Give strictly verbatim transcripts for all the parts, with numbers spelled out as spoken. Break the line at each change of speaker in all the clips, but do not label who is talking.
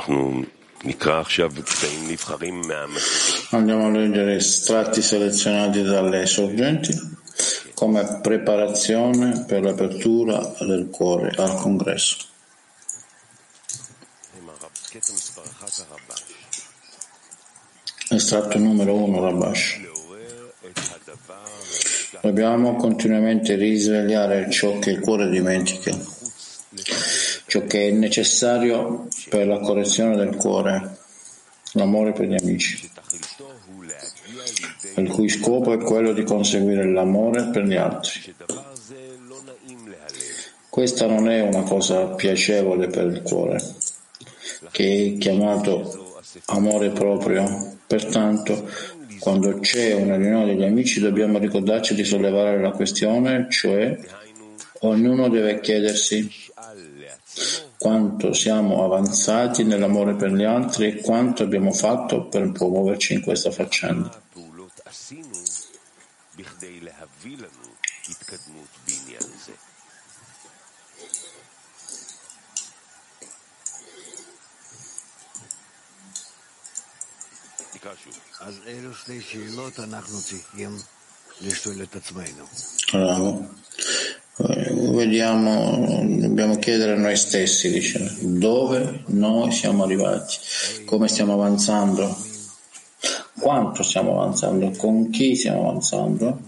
Andiamo a leggere estratti selezionati dalle sorgenti come preparazione per l'apertura del cuore al congresso. Estratto numero uno, Rabash. Dobbiamo continuamente risvegliare ciò che il cuore dimentica, ciò che è necessario per la correzione del cuore, l'amore per gli amici, il cui scopo è quello di conseguire l'amore per gli altri. Questa non è una cosa piacevole per il cuore, che è chiamato amore proprio. Pertanto, quando c'è una riunione degli amici, dobbiamo ricordarci di sollevare la questione, cioè ognuno deve chiedersi quanto siamo avanzati nell'amore per gli altri e quanto abbiamo fatto per promuoverci in questa faccenda. Bravo. Vediamo, dobbiamo chiedere a noi stessi, dice, dove noi siamo arrivati, come stiamo avanzando, quanto stiamo avanzando, con chi stiamo avanzando,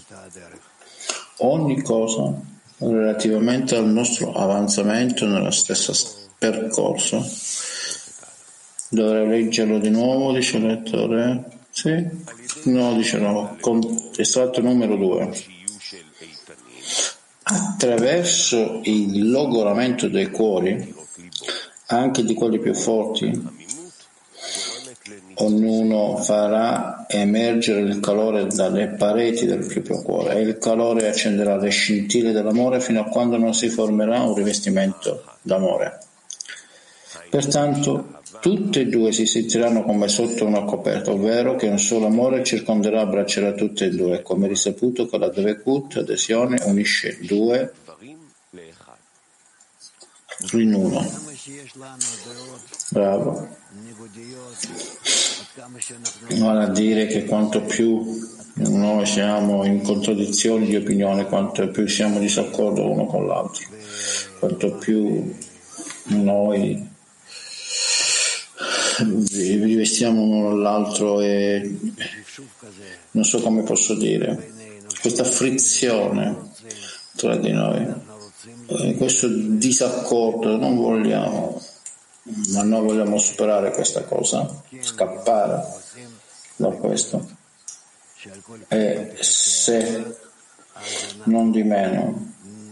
ogni cosa relativamente al nostro avanzamento nello stesso percorso. Dovrei leggerlo di nuovo, dice il lettore? Sì? No, dice no. Con estratto numero due. Attraverso il logoramento dei cuori, anche di quelli più forti, ognuno farà emergere il calore dalle pareti del proprio cuore e il calore accenderà le scintille dell'amore fino a quando non si formerà un rivestimento d'amore. Pertanto, tutte e due si sentiranno come sotto una coperta, ovvero che un solo amore circonderà e abbraccerà tutte e due, come risaputo che la Dvekut, adesione, unisce due in uno. Bravo. Vale a dire che quanto più noi siamo in contraddizioni di opinione, quanto più siamo in disaccordo uno con l'altro, quanto più noi rivestiamo uno l'altro e non so come posso dire, questa frizione tra di noi, questo disaccordo, non vogliamo, ma noi vogliamo superare questa cosa, scappare da questo, e se non di meno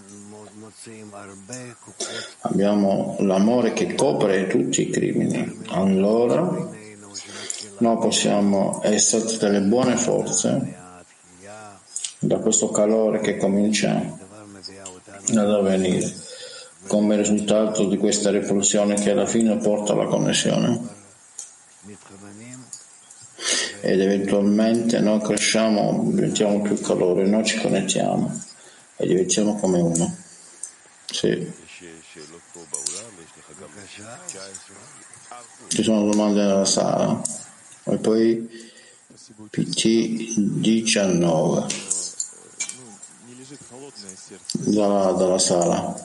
abbiamo l'amore che copre tutti i crimini, allora noi possiamo essere delle buone forze da questo calore che comincia ad avvenire come risultato di questa rivoluzione che alla fine porta alla connessione, ed eventualmente noi cresciamo, diventiamo più calore, noi ci connettiamo e diventiamo come uno. Sì. Ci sono domande nella sala e poi P T diciannove dalla, dalla sala.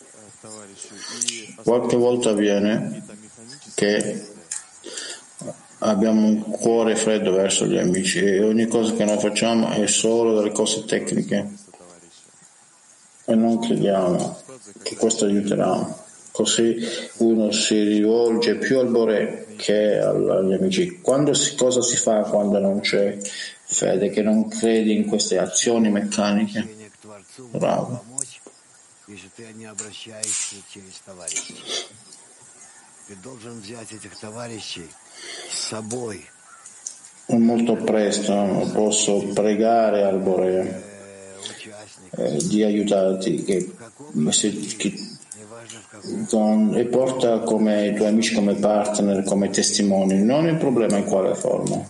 Qualche volta avviene che abbiamo un cuore freddo verso gli amici e ogni cosa che noi facciamo è solo delle cose tecniche e non crediamo che questo aiuterà. Così uno si rivolge più al Boré che agli amici. Quando si, cosa si fa quando non c'è fede, che non credi in queste azioni meccaniche? Bravo. Molto presto posso pregare al Boré eh, di aiutarti che, se, che, con, e porta come i tuoi amici come partner, come testimoni, non il problema in quale forma.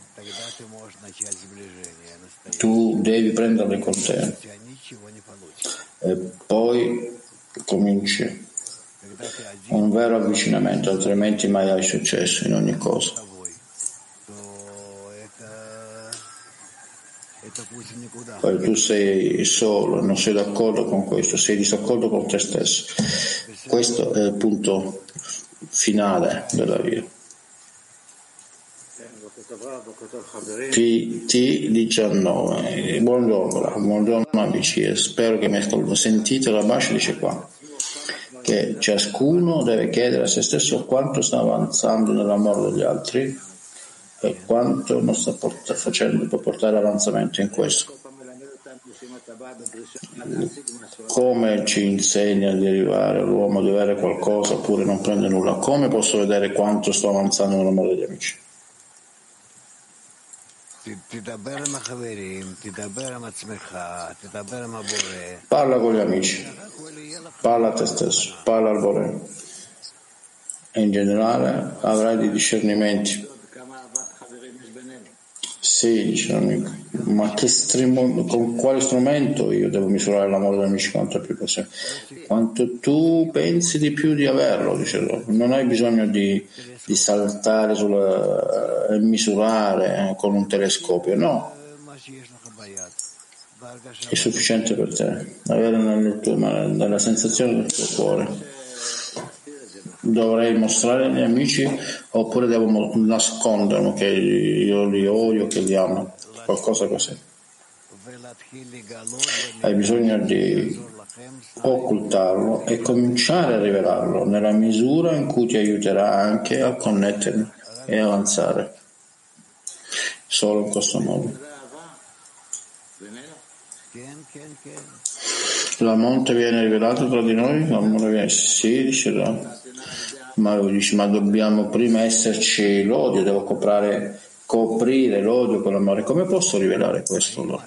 Tu devi prenderli con te e poi cominci un vero avvicinamento, altrimenti mai hai successo in ogni cosa. Poi tu sei solo, non sei d'accordo con questo, sei disaccordo con te stesso. Questo è il punto finale della via. T diciannove, buongiorno, buongiorno amici, spero che mi ascoltino. Sentite la Bascia dice qua che ciascuno deve chiedere a se stesso quanto sta avanzando nell'amore degli altri e quanto non sta port- facendo per portare avanzamento in questo. Come ci insegna di arrivare all'uomo di avere qualcosa oppure non prende nulla? Come posso vedere quanto sto avanzando nell'amore degli amici? Parla con gli amici, parla a te stesso, parla al Bore. E in generale avrai dei discernimenti. Sì, dice l'amico, ma che stremo, con quale strumento io devo misurare l'amore degli amici quanto è più possibile? Quanto tu pensi di più di averlo, dice lui. Non hai bisogno di, di saltare sulla, e misurare con un telescopio, no. È sufficiente per te, avere nel tuo, nella sensazione del tuo cuore. Dovrei mostrare agli amici oppure devo nasconderlo che io li odio, che li amo, qualcosa così. Hai bisogno di occultarlo e cominciare a rivelarlo nella misura in cui ti aiuterà anche a connettermi e avanzare solo in questo modo. L'amore viene rivelato tra di noi? L'amore viene, sì, dice là. Ma lui dice, ma dobbiamo prima esserci l'odio, devo coprare, coprire l'odio con l'amore. Come posso rivelare questo? No?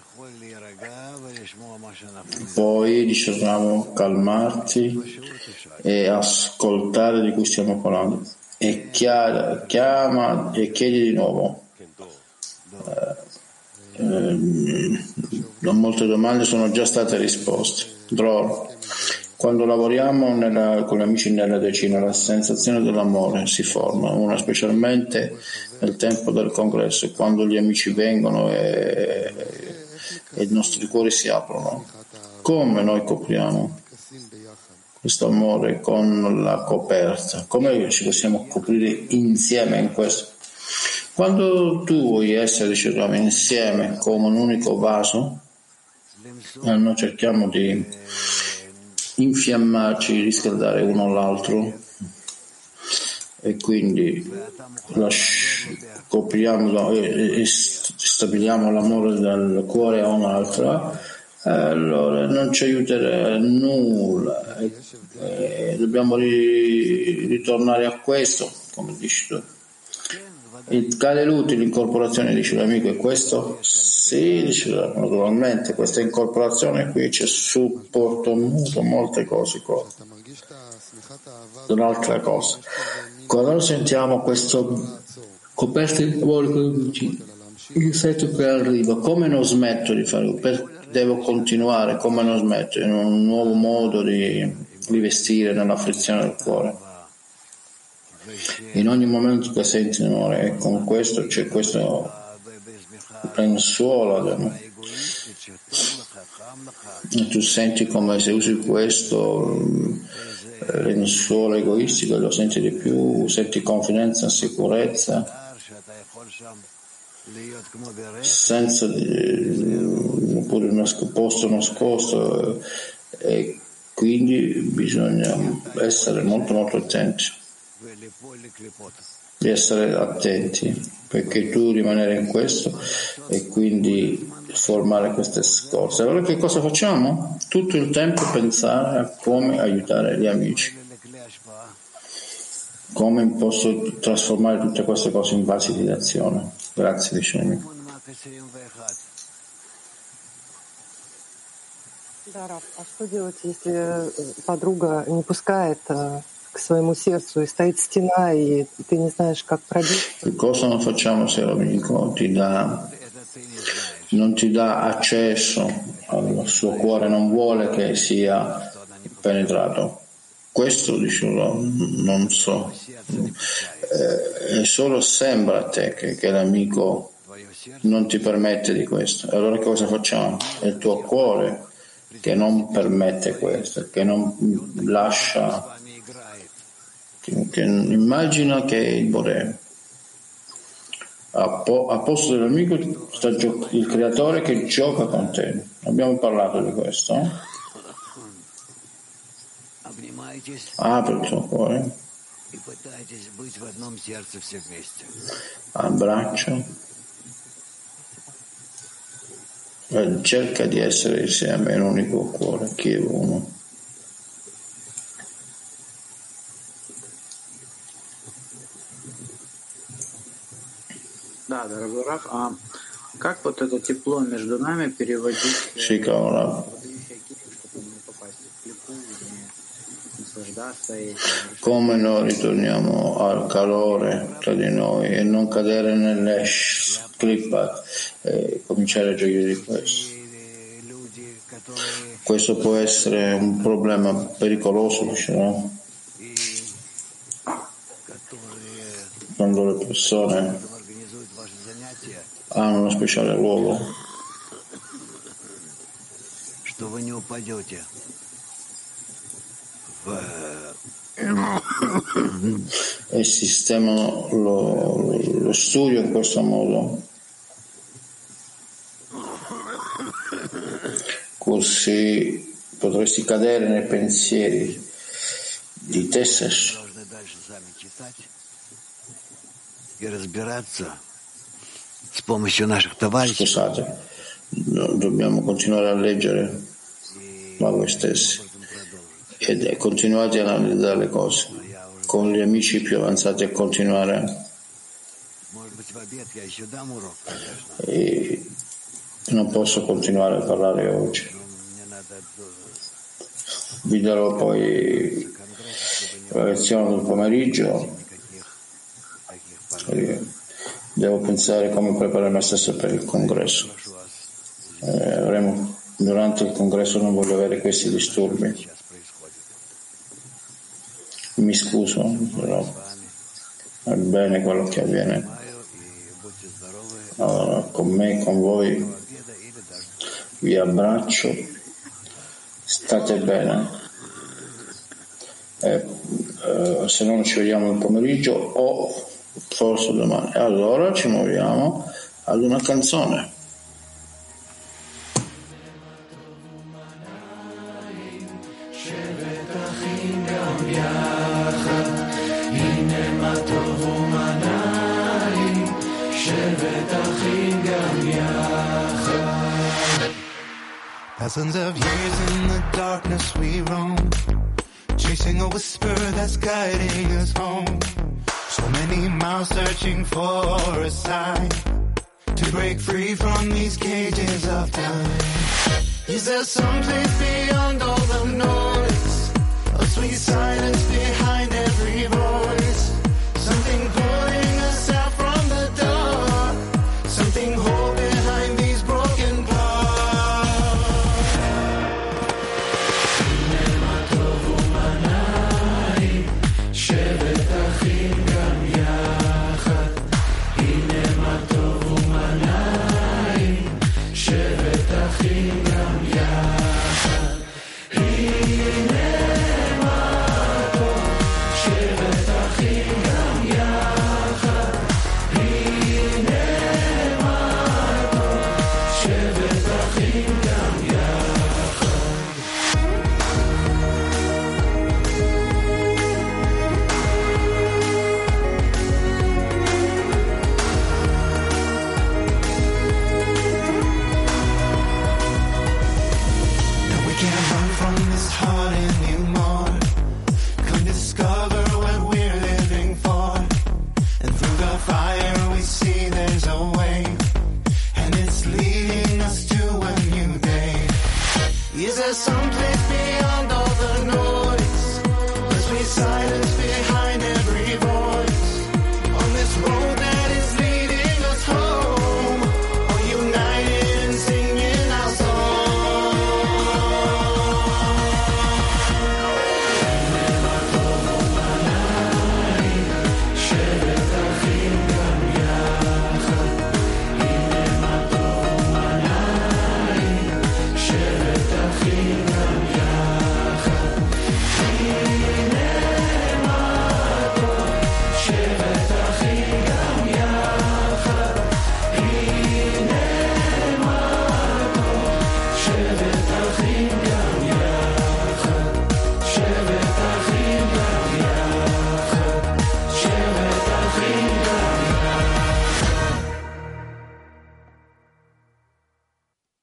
Poi dice, dobbiamo calmarti e ascoltare di cui stiamo parlando. E chiara, chiama e chiedi di nuovo. Eh, eh, molte domande sono già state risposte. Dror. Quando lavoriamo nella, con gli amici nella decina, la sensazione dell'amore si forma, una specialmente nel tempo del congresso, quando gli amici vengono e, e i nostri cuori si aprono. Come noi copriamo questo amore con la coperta? Come ci possiamo coprire insieme in questo? Quando tu vuoi essere, diciamo, insieme come un unico vaso, noi cerchiamo di infiammarci, riscaldare uno l'altro e quindi copriamo e stabiliamo l'amore dal cuore a un'altra, allora non ci aiuterà nulla e, e dobbiamo ri, ritornare a questo, come dici tu. Il cade l'utile incorporazione, dice l'amico, è questo? Sì, dice naturalmente, questa incorporazione qui c'è supporto mutuo, molte cose qua. Un'altra cosa, quando sentiamo questo coperto di amore con gli amici, il sento che arriva, come non smetto di farlo? Per, devo continuare, come non smetto, in un nuovo modo di rivestire nella frizione del cuore. In ogni momento che senti l'amore, e con questo c'è questo lenzuolo e tu senti come se usi questo lenzuolo egoistico e lo senti di più, senti confidenza, sicurezza, senza di, oppure un posto nascosto, e quindi bisogna essere molto molto attenti, di essere attenti, perché tu rimanere in questo e quindi formare queste cose. Allora che cosa facciamo? Tutto il tempo pensare a come aiutare gli amici, come posso trasformare tutte queste cose in basi di azione. Grazie, vicino.
Да, Раф, а что делать, если подруга не пускает к своему сердцу и стоит стена, и ты не знаешь, как пробить?
Che cosa non facciamo se l'amico ti dà, non ti dà accesso al suo cuore, non vuole che sia penetrato? questo diciamo, non so, eh, solo sembra a te che, che l'amico non ti permette di questo. Allora cosa facciamo? È il tuo cuore che non permette questo, che non lascia, che, che immagina che il Bore a, po, a posto dell'amico sta gio- il creatore che gioca con te. Abbiamo parlato di questo, eh? Apri il tuo cuore, abbraccia e cerca di essere insieme in un unico cuore, chi è uno.
Да, дорогой Раф, а как вот это тепло между нами переводить в
Sì, cavolo.
чтобы не попасть в клипу, не наслаждаться этим?
Come noi ritorniamo al calore tra di noi e non cadere nell'esh clippa e cominciare a gioire di questo. Questo può essere un problema pericoloso, diciamo, quando le persone hanno uno speciale ruolo e sistemano lo, lo studio in questo modo, così potresti cadere nei pensieri di te stesso. Scusate, no, dobbiamo continuare a leggere da voi stessi e continuate ad analizzare le cose con gli amici più avanzati e continuare. E non posso continuare a parlare oggi, vi darò poi la lezione del pomeriggio. Devo pensare come preparare me stesso per il congresso. Eh, avremo, durante il congresso non voglio avere questi disturbi. Mi scuso, però è bene quello che avviene. Allora, con me, con voi, vi abbraccio, state bene. Eh, eh, se non ci vediamo il pomeriggio o forse domani, allora ci muoviamo ad una canzone.
Thousands of years in the darkness we roam, chasing a whisper that's guiding us home. So many miles searching for a sign to break free from these cages of time. Is there some place beyond all the noise, a sweet silence behind